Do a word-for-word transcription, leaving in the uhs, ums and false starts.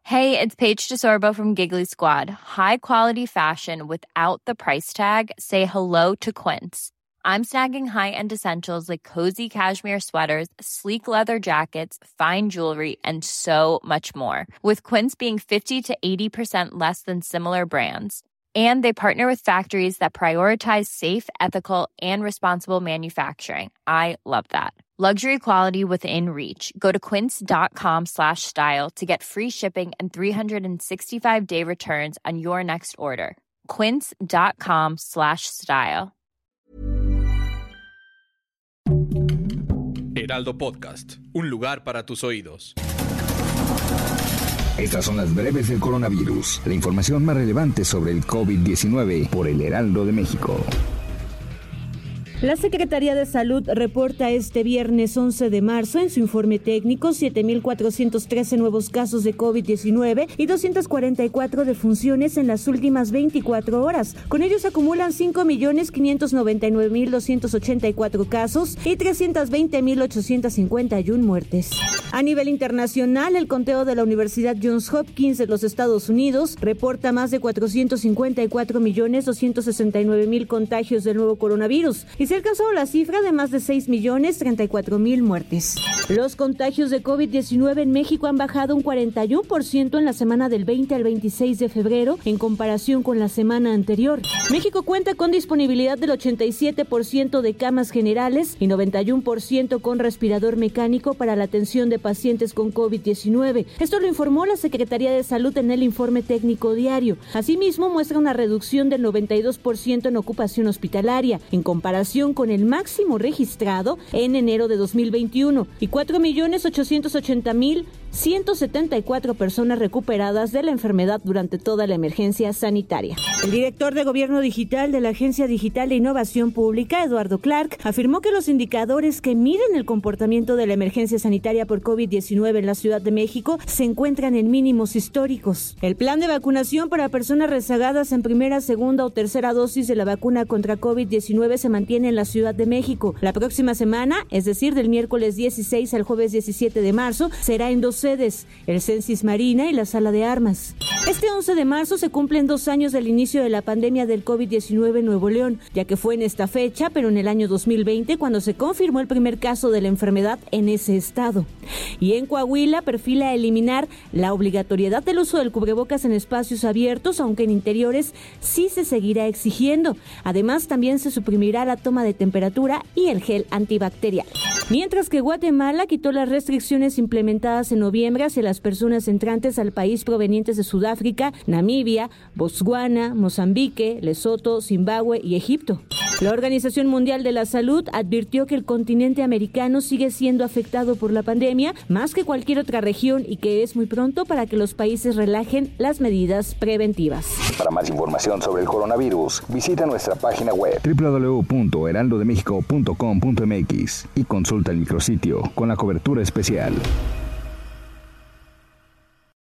Hey, it's Paige DeSorbo from Giggly Squad. High quality fashion without the price tag. Say hello to Quince. I'm snagging high-end essentials like cozy cashmere sweaters, sleek leather jackets, fine jewelry, and so much more. With Quince being fifty to eighty percent less than similar brands. And they partner with factories that prioritize safe, ethical, and responsible manufacturing. I love that. Luxury quality within reach. Go to quince.com slash style to get free shipping and three sixty-five day returns on your next order. Quince.com slash style. Heraldo Podcast, un lugar para tus oídos. Estas son las breves del coronavirus, la información más relevante sobre el COVID diecinueve por el Heraldo de México. La Secretaría de Salud reporta este viernes once de marzo en su informe técnico siete mil cuatrocientos trece nuevos casos de COVID diecinueve y doscientas cuarenta y cuatro defunciones en las últimas veinticuatro horas. Con ellos se acumulan cinco millones quinientos noventa y nueve mil doscientos ochenta y cuatro casos y trescientas veinte mil ochocientas cincuenta y una muertes. A nivel internacional, el conteo de la Universidad Johns Hopkins de los Estados Unidos reporta más de cuatrocientos cincuenta y cuatro millones doscientos sesenta y nueve mil contagios del nuevo coronavirus y se alcanzó la cifra de más de seis millones treinta y cuatro mil muertes. Los contagios de COVID diecinueve en México han bajado un cuarenta y uno por ciento en la semana del veinte al veintiséis de febrero en comparación con la semana anterior. México cuenta con disponibilidad del ochenta y siete por ciento de camas generales y noventa y uno por ciento con respirador mecánico para la atención de pacientes con COVID diecinueve. Esto lo informó la Secretaría de Salud en el informe técnico diario. Asimismo, muestra una reducción del noventa y dos por ciento en ocupación hospitalaria, en comparación con el máximo registrado en enero de dos mil veintiuno, y cuatro millones ochocientos ochenta mil ciento setenta y cuatro personas recuperadas de la enfermedad durante toda la emergencia sanitaria. El director de Gobierno Digital de la Agencia Digital de Innovación Pública, Eduardo Clark, afirmó que los indicadores que miden el comportamiento de la emergencia sanitaria por COVID diecinueve en la Ciudad de México se encuentran en mínimos históricos. El plan de vacunación para personas rezagadas en primera, segunda o tercera dosis de la vacuna contra COVID diecinueve se mantiene en la Ciudad de México. La próxima semana, es decir, del miércoles dieciséis al jueves diecisiete de marzo, será en dos sedes, el Censis Marina y la Sala de Armas. Este once de marzo se cumplen dos años del inicio de la pandemia del COVID diecinueve en Nuevo León, ya que fue en esta fecha, pero en el año dos mil veinte, cuando se confirmó el primer caso de la enfermedad en ese estado. Y en Coahuila perfila eliminar la obligatoriedad del uso del cubrebocas en espacios abiertos, aunque en interiores sí se seguirá exigiendo. Además, también se suprimirá la toma de temperatura y el gel antibacterial. Mientras que Guatemala quitó las restricciones implementadas en noviembre hacia las personas entrantes al país provenientes de Sudáfrica, Namibia, Botswana, Mozambique, Lesoto, Zimbabue y Egipto. La Organización Mundial de la Salud advirtió que el continente americano sigue siendo afectado por la pandemia más que cualquier otra región y que es muy pronto para que los países relajen las medidas preventivas. Para más información sobre el coronavirus, visita nuestra página web doble u doble u doble u punto heraldo de méxico punto com punto m x y consulta el micrositio con la cobertura especial.